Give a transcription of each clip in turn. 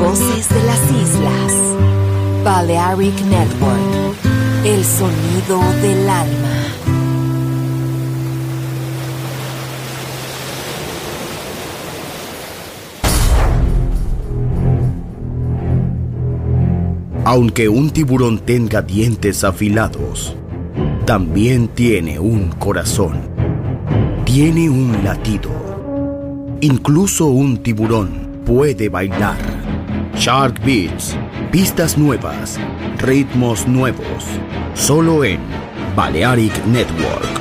Voces de las Islas. Balearic Network. El sonido del alma. Aunque un tiburón tenga dientes afilados, también tiene un corazón. Tiene un latido. Incluso un tiburón puede bailar. Shark Beats, pistas nuevas, ritmos nuevos, solo en Balearic Network.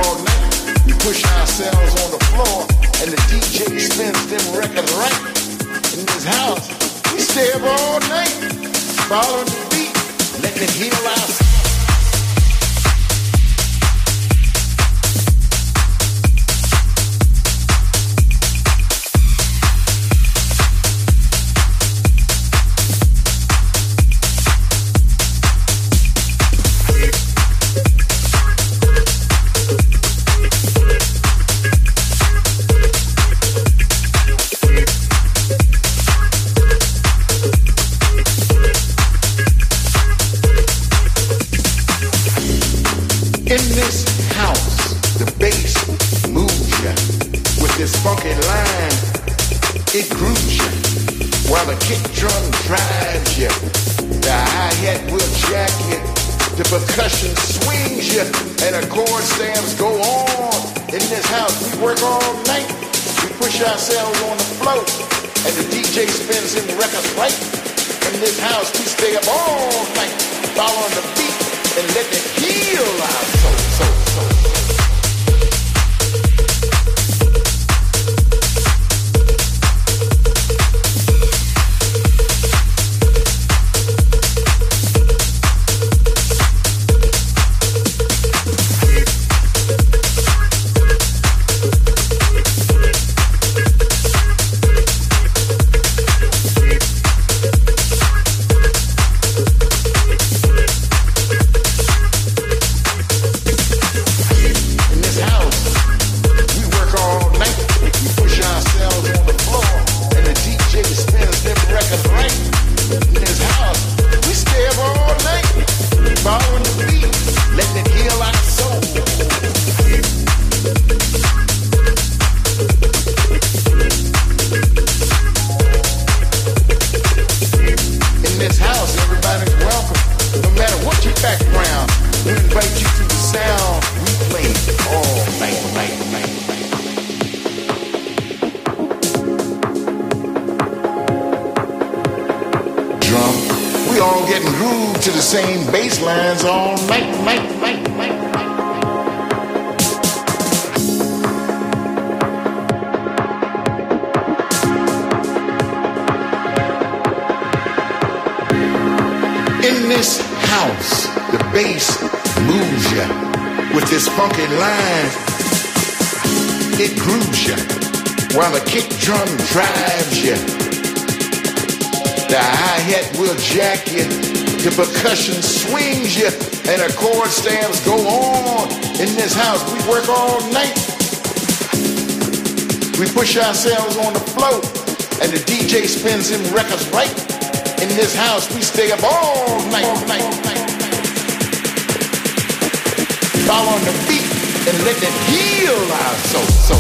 all night. We push ourselves on the floor, and the DJ spins them records right. In this house, we stay up all night, following the beat, letting it heal our. In this house, the bass moves ya with this funky line. It grooves ya while the kick drum drives ya. The hi-hat will jack ya, the percussion swings ya, and the chord stabs go on. In this house, we work all night. We push ourselves on the floor, and the DJ spins them records right. In this house, we stay up all night, following the beat and let it heal our soul. Same bass lines all night. In this house, the bass moves ya with this funky line. It grooves ya while the kick drum drives ya. The hi-hat will jack ya, the percussion swings you, and the chord stabs go on. In this house, we work all night. We push ourselves on the floor, and the DJ spins them records right. In this house, we stay up all night. Following the beat and let it heal our soul.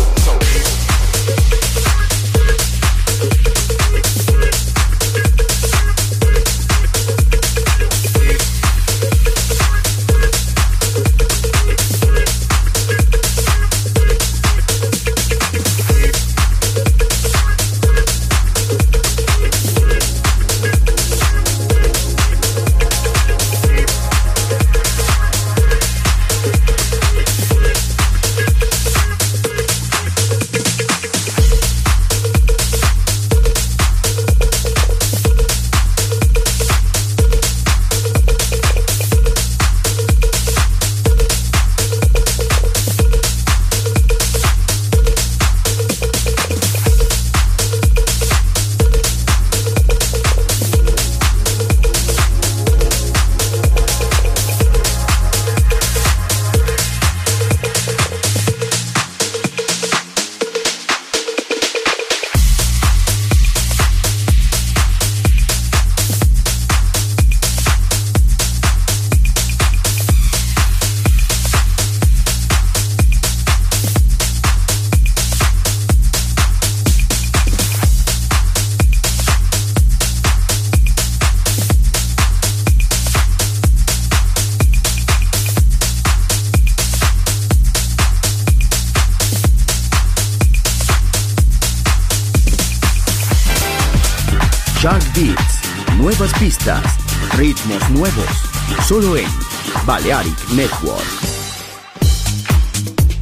Shark Beats, nuevas pistas, ritmos nuevos, solo en Balearic Network.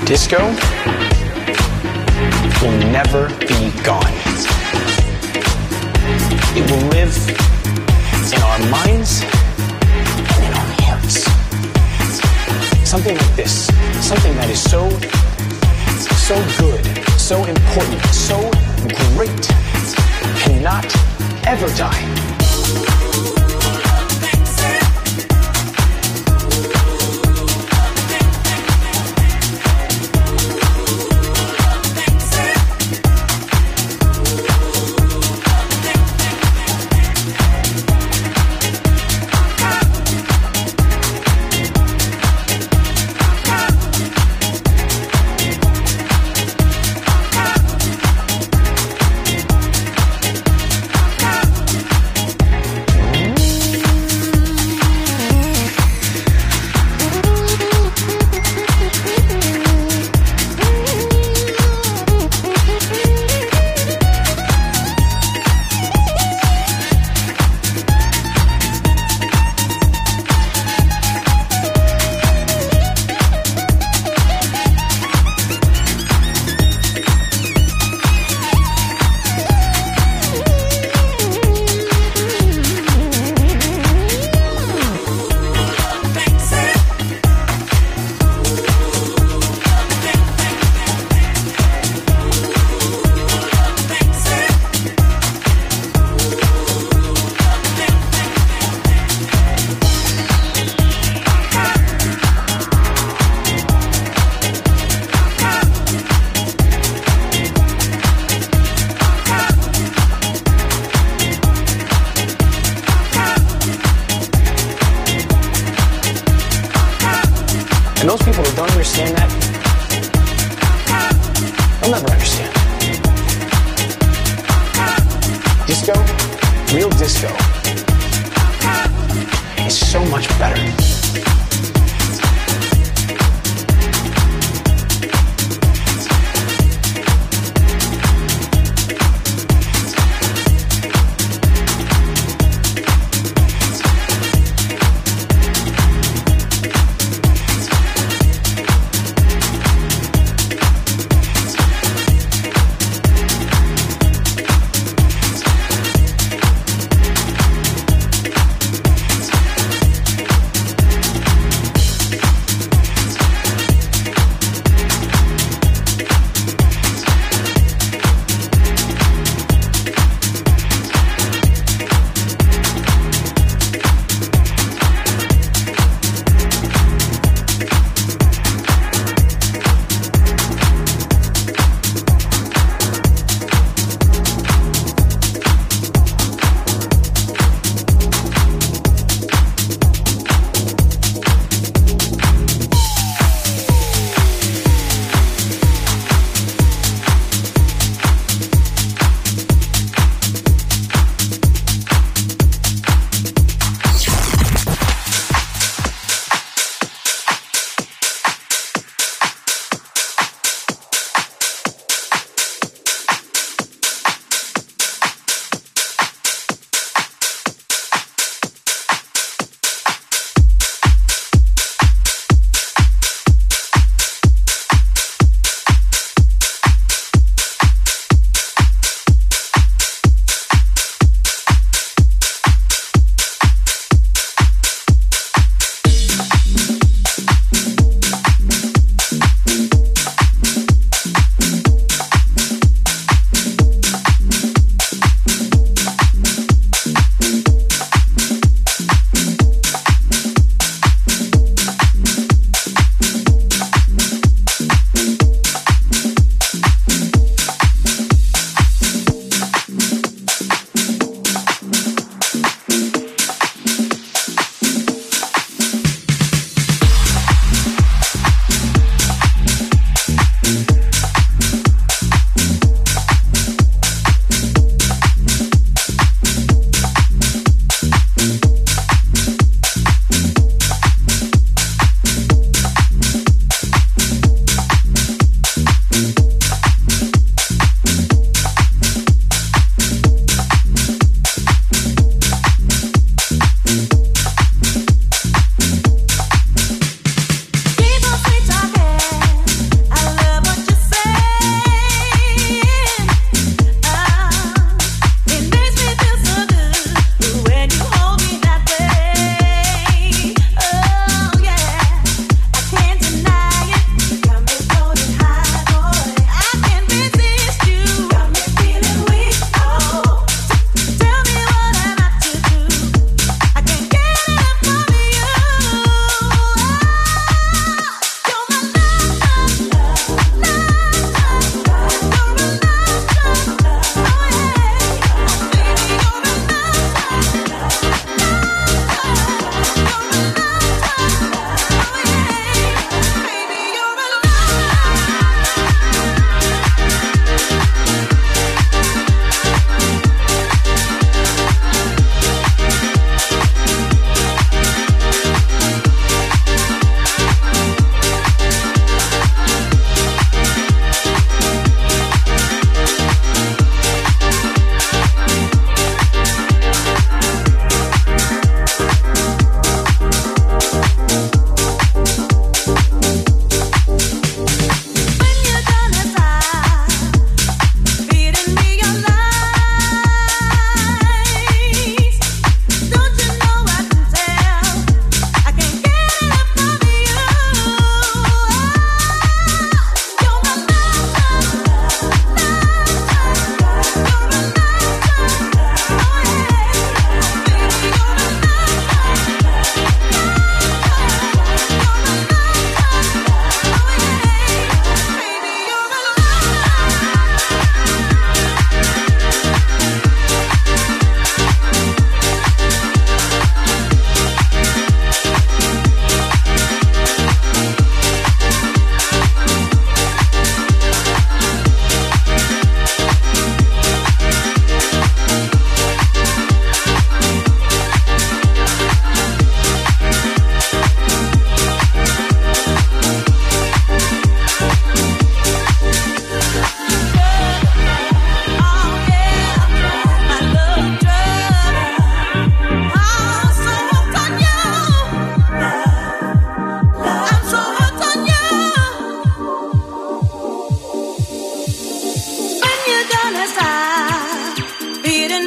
Disco will never be gone. It will live in our minds and in our hearts. Something like this, something that is so good, so important, so great, cannot ever die. And those people who don't understand that, they'll never understand. Disco, real disco, is so much better.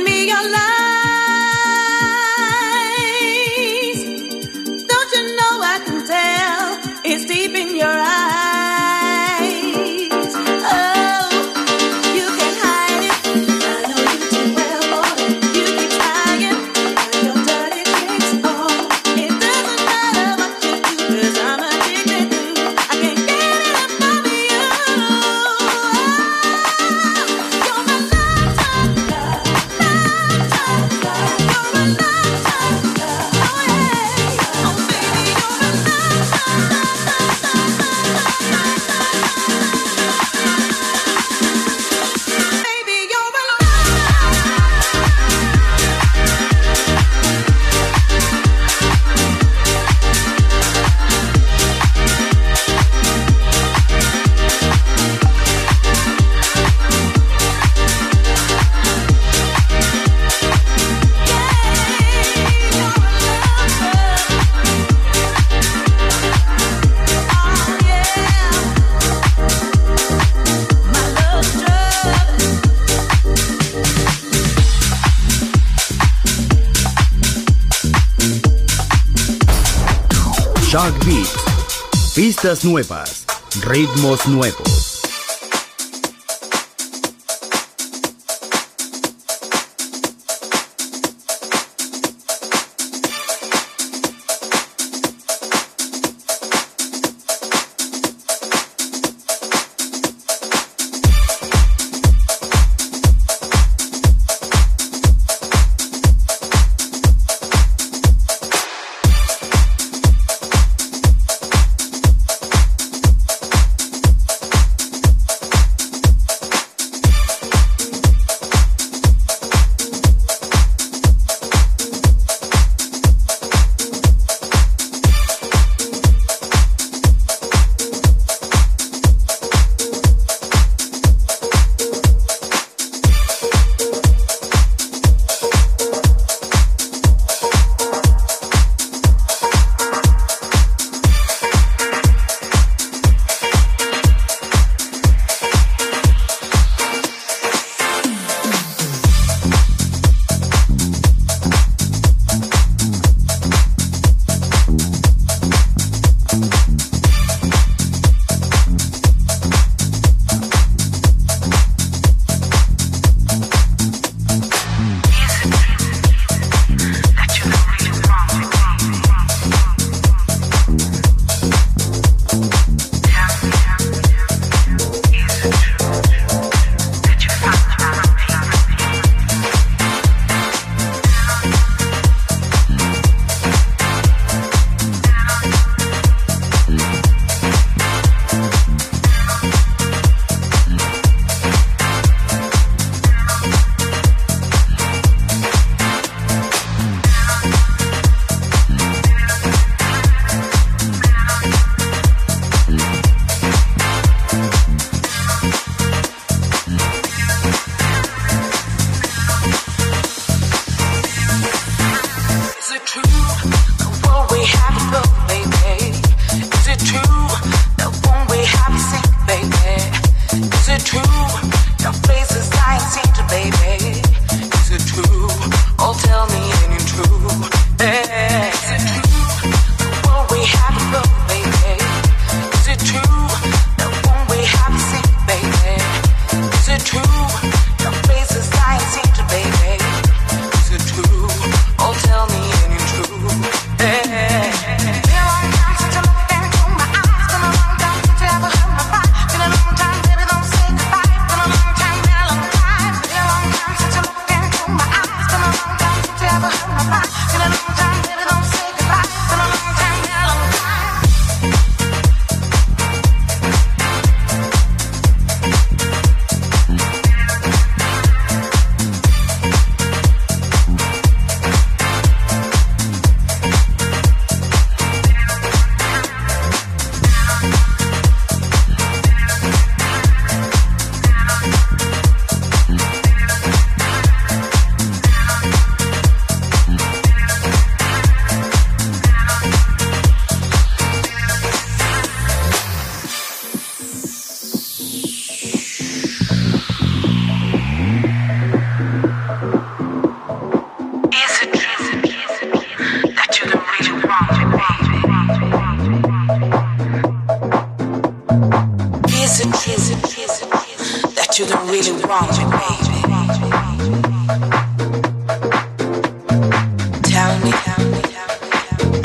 Lend me your lies. Don't you know I can tell it's deep in your eyes. Oh, you can hide it. I know you too well, boy. You keep trying, but your dirty tricks on. It doesn't matter what you do, 'cause I'm addicted to. I can't get enough of you. You're my lifetime love, lifetime love. You're a lifetime love. Oh yeah, oh baby, you're a lifetime love, lifetime love, baby, you're a Shock Beats. Pistas nuevas, ritmos nuevos.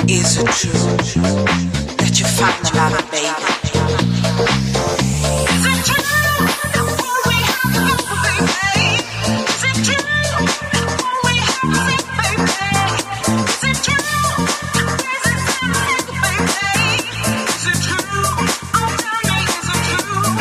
Is it true that you find another baby? Is it true that all we have is baby? Is it true that all we have is baby? Is it true that this is baby? Is it true? Oh, tell me, is it true?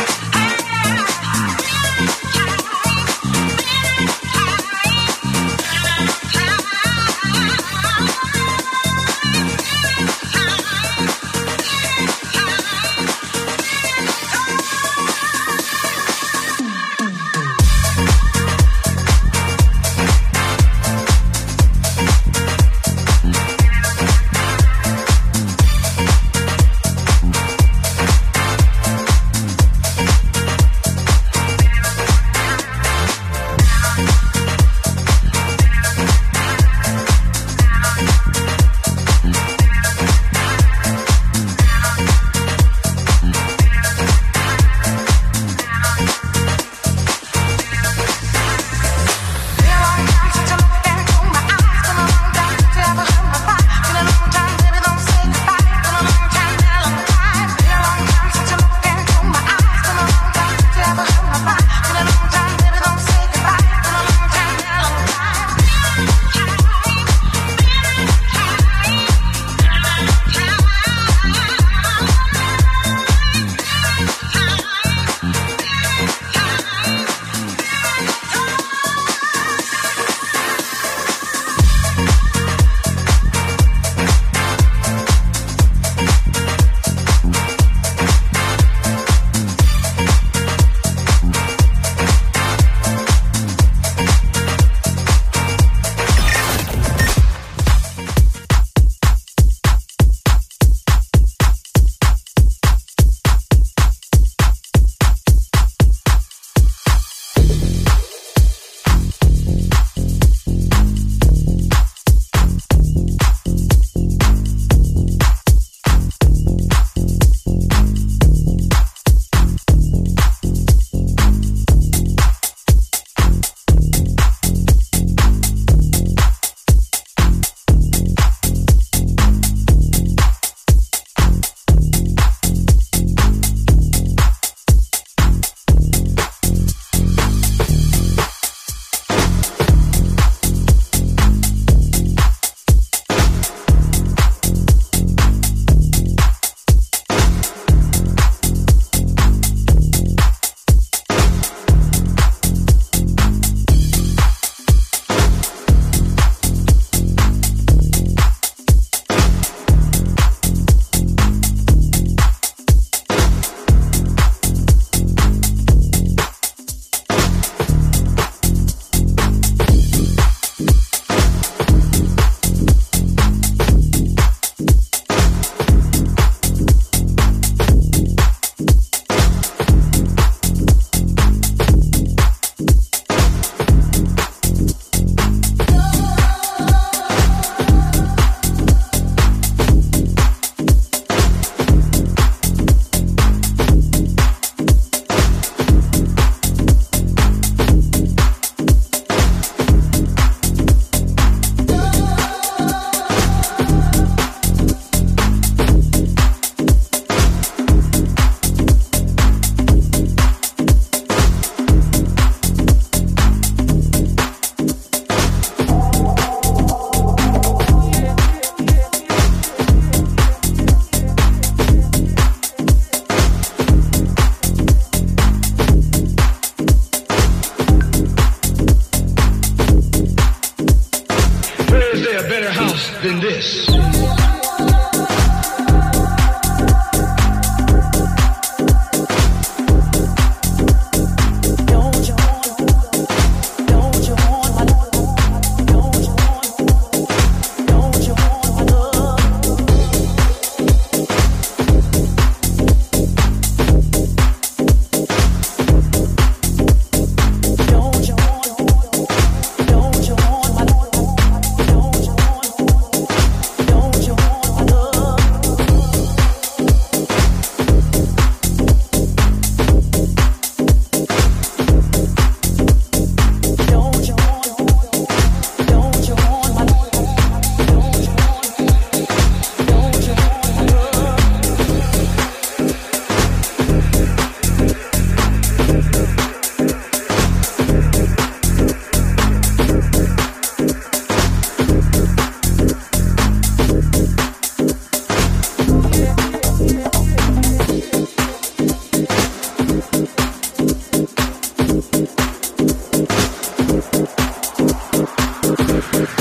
than this.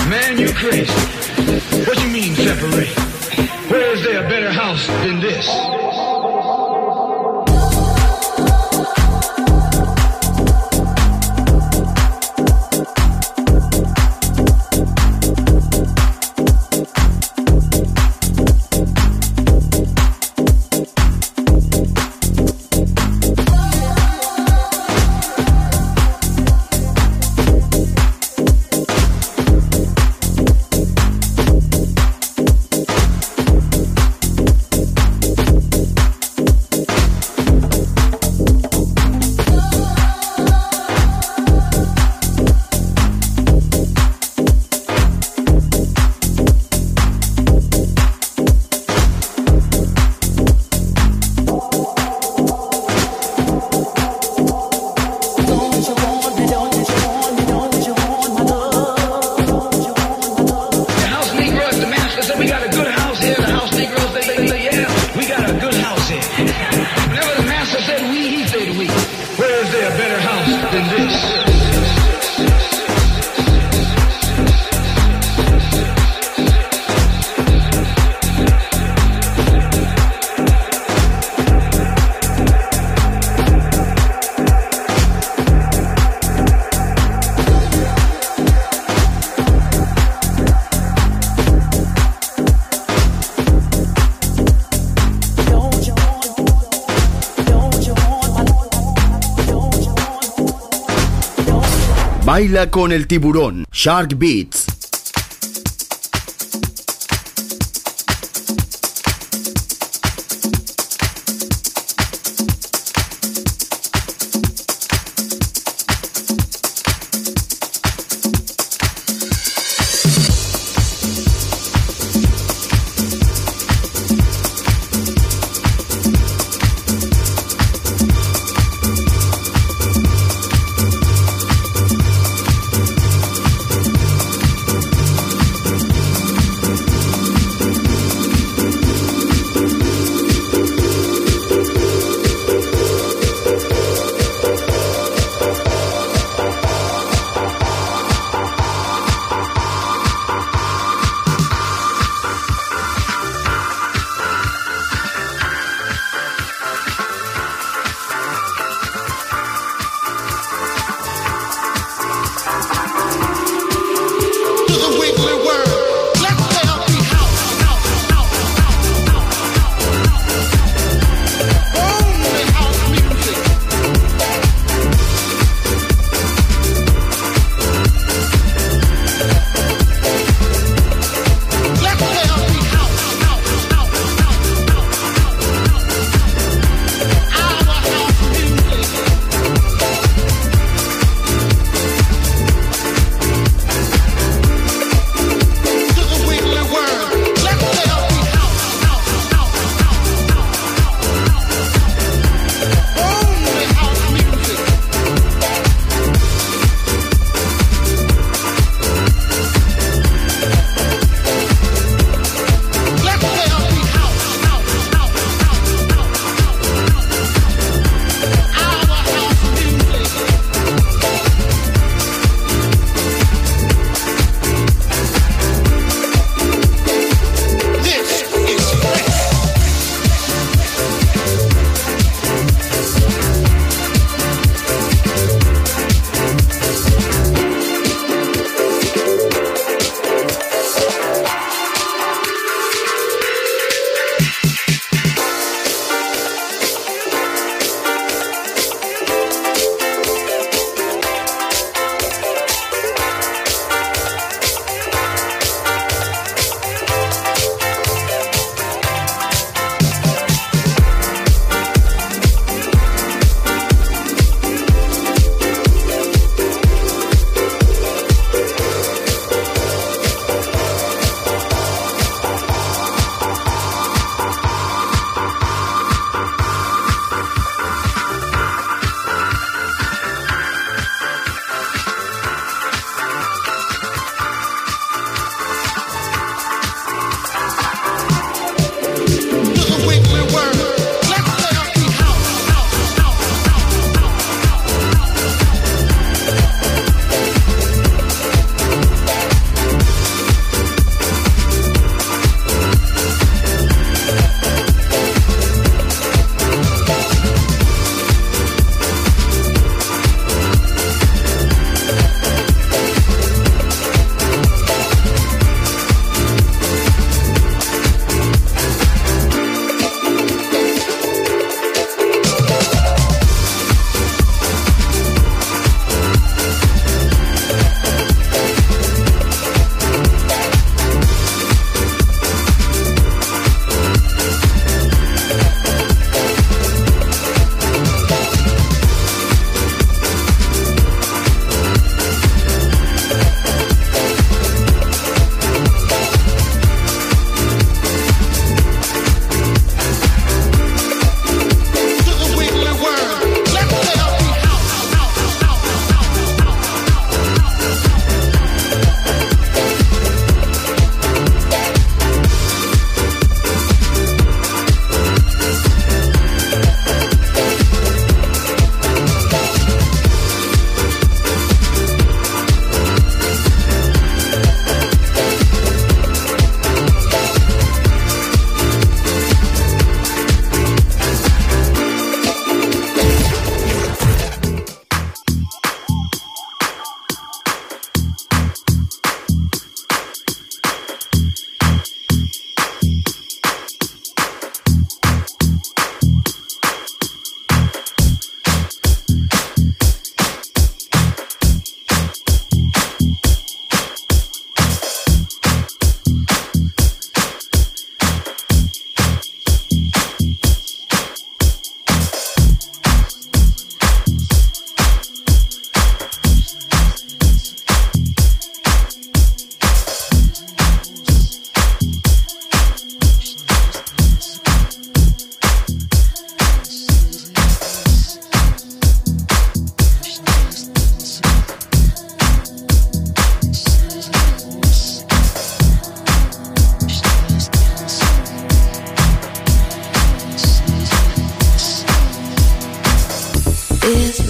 Man, you're crazy. What you mean separate? Where is there a better house than this? Baila con el tiburón. Shark Beats.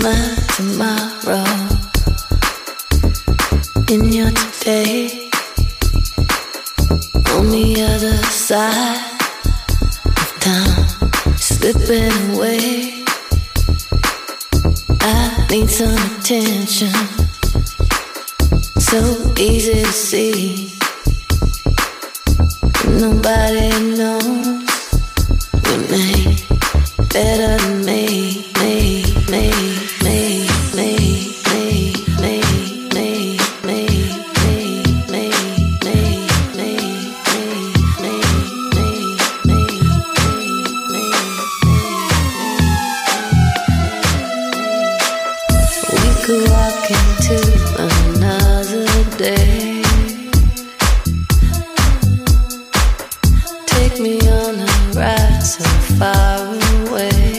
my tomorrow in your today. On the other side of town, slipping away. I need some attention. So easy to see. Nobody knows your name better than me. Could walk into another day. Take me on a ride so far away.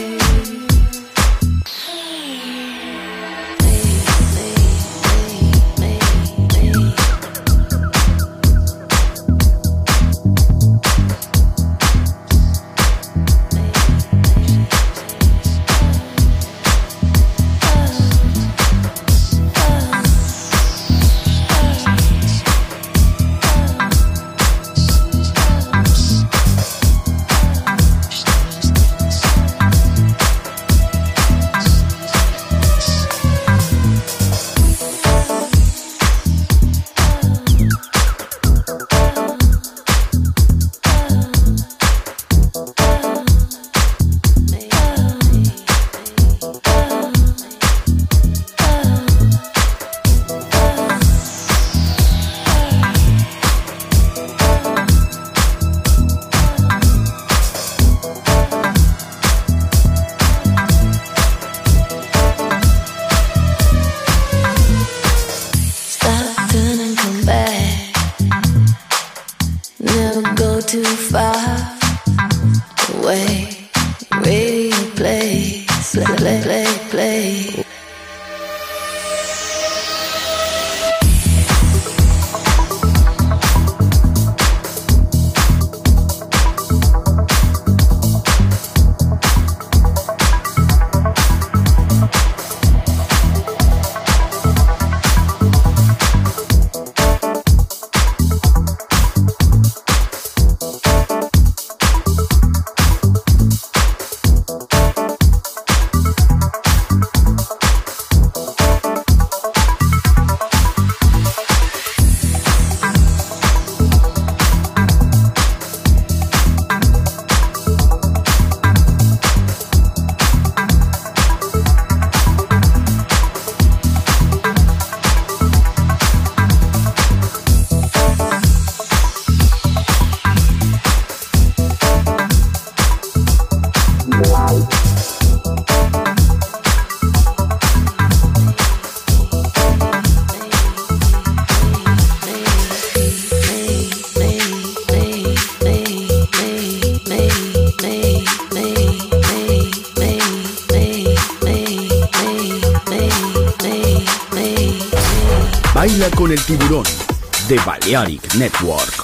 Baila con el tiburón de Balearic Network.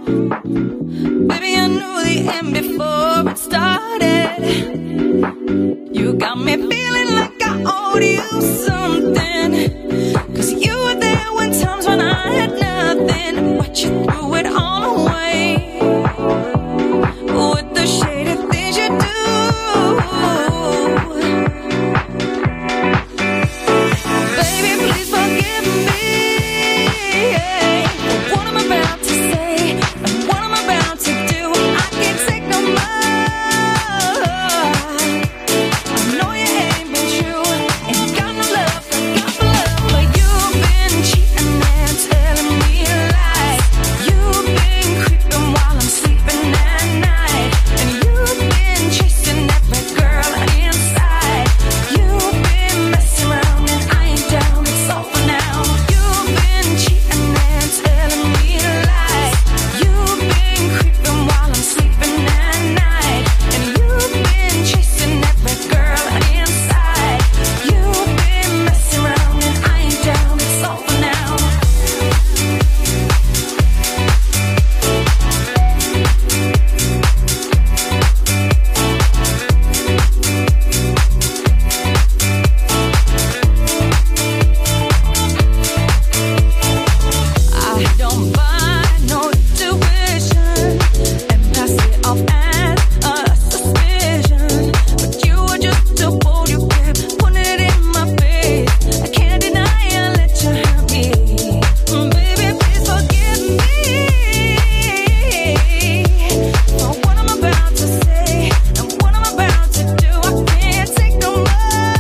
Baby, I knew the end before it started. You got me feeling like I owed you something. 'Cause you were there when times when I had nothing, but you threw it all away. With the shady things you do. Baby, please forgive me for what I'm about to say and what I'm about to do. I can't take no more. I know you ain't been true, ain't got no love, got no love, but you've been cheating and telling me lies. You've been creeping while I'm sleeping at night, and you've been chasing every girl inside. You've been messing around and I ain't down, it's over now. You've been cheating and telling me lies. You've been creeping while I'm sleeping at night, and you've been chasing every girl inside. You've been messing around and I ain't down, it's over now. I don't buy no tuition and pass it off as a suspicion, but you were just a bold, you kept putting it in my face. I can't deny I let you have me. Baby, please forgive me for what I'm about to say and what I'm about to do. I can't take no more.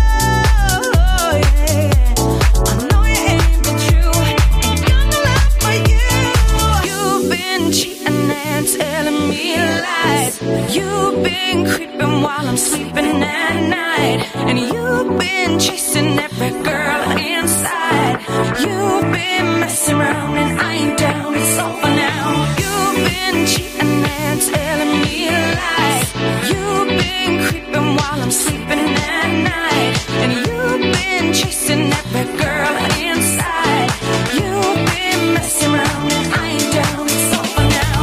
Yeah. I know you ain't been true, ain't got no love for you. You've been cheating and telling me lies. You've been creeping while I'm sleeping at night, and you've been chasing every girl inside. You've been messing around and I ain't down, it's over now. You've been cheating and telling me lies. You've been creeping while I'm sleeping at night, and you've been chasing every girl inside. You've been messing around and I ain't down, it's over now.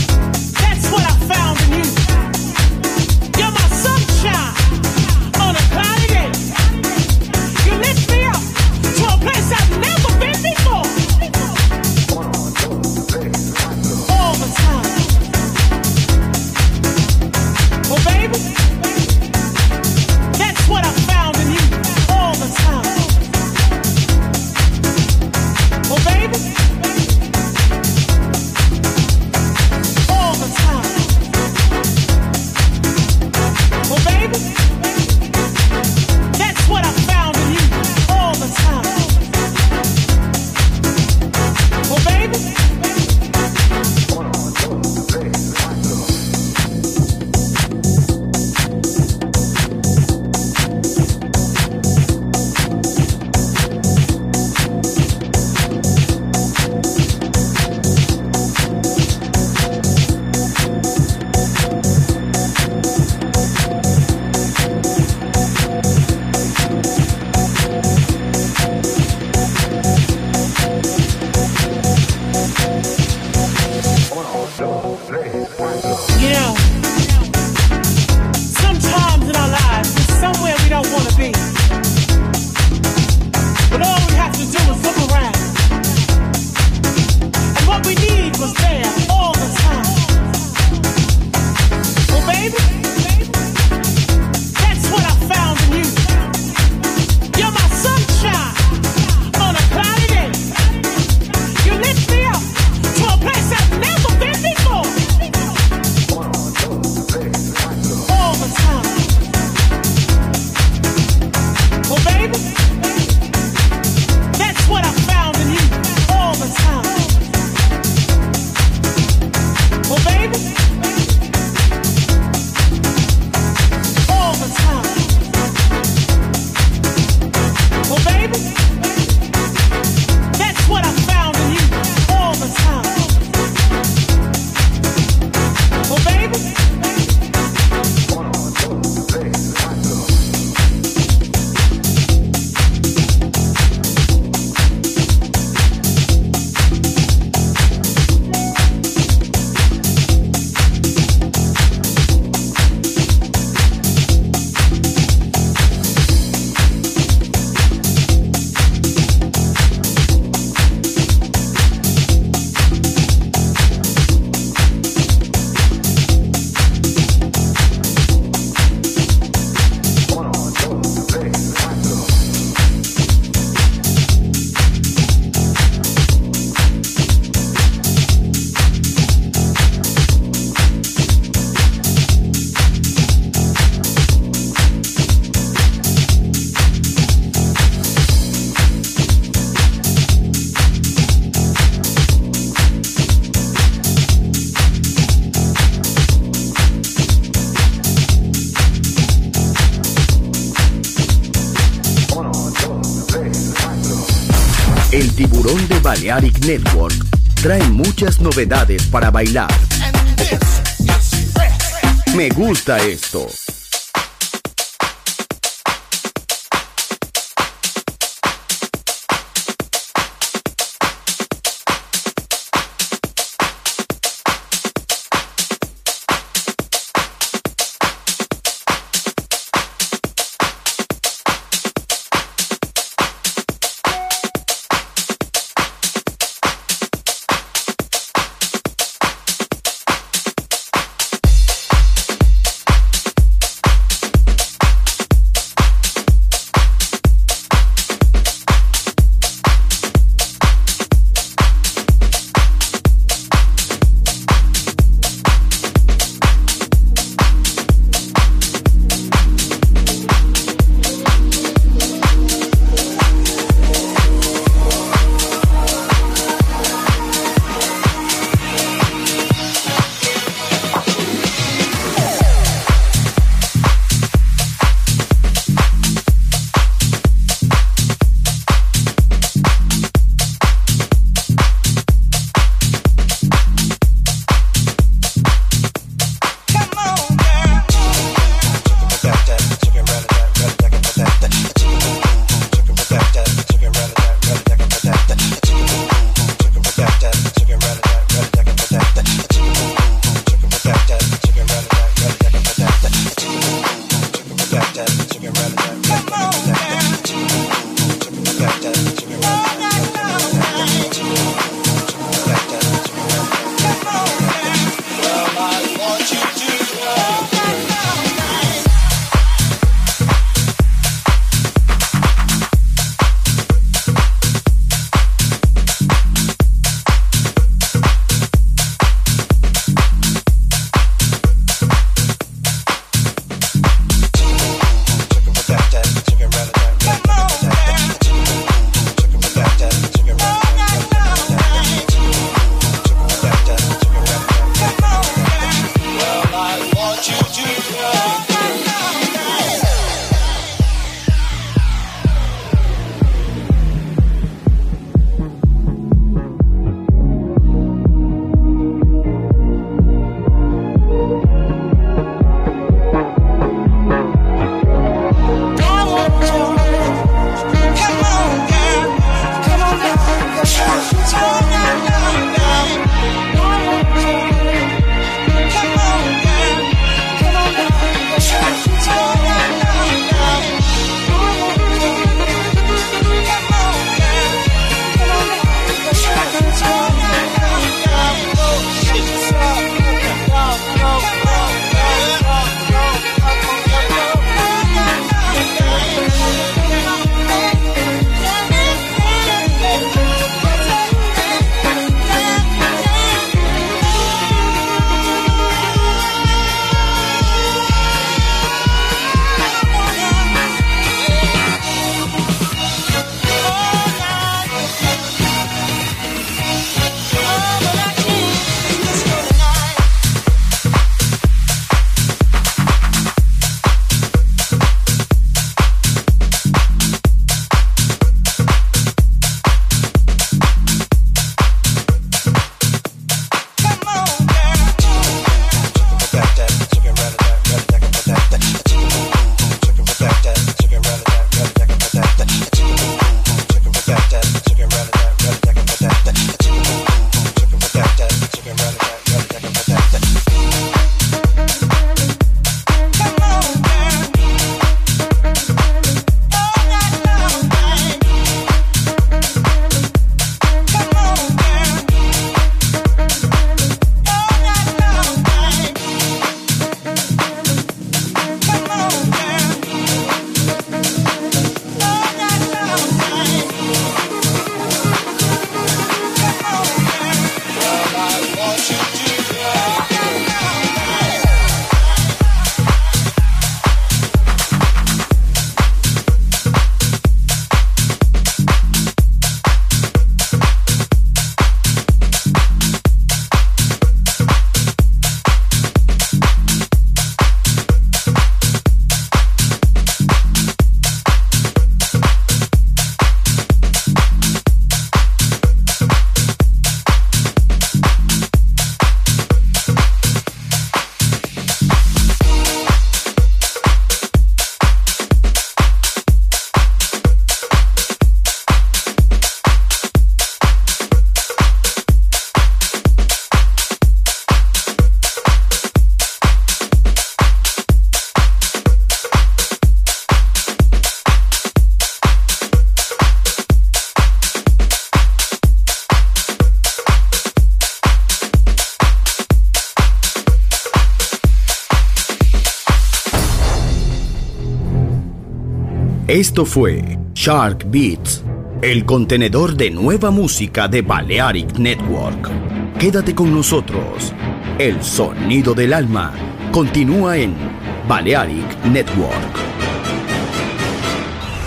On a El Tiburón de Balearic Network trae muchas novedades para bailar. Me gusta esto. Esto fue Shark Beats, el contenedor de nueva música de Balearic Network. Quédate con nosotros. El sonido del alma continúa en Balearic Network.